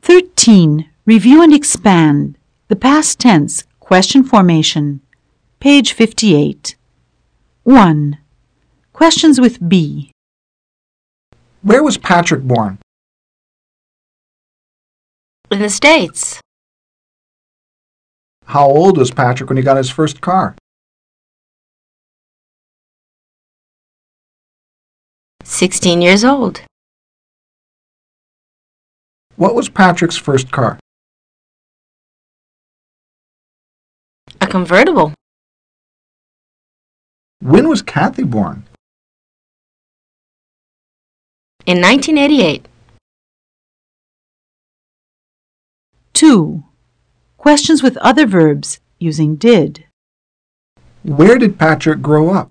13. Review and expand. The past tense, question formation. Page 58. 1. Questions with be. Where was Patrick born? In the States. How old was Patrick when he got his first car? 16 years old. What was Patrick's first car? A convertible. When was Kathy born? In 1988. 2. Questions with other verbs using did. Where did Patrick grow up?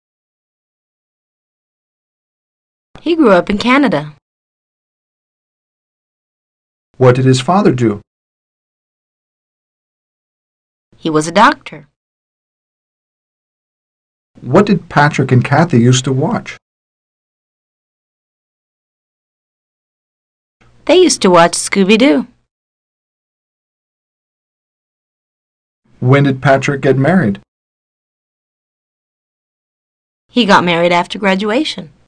He grew up in Canada. What did his father do? He was a doctor. What did Patrick and Kathy used to watch? They used to watch Scooby-Doo. When did Patrick get married? He got married after graduation.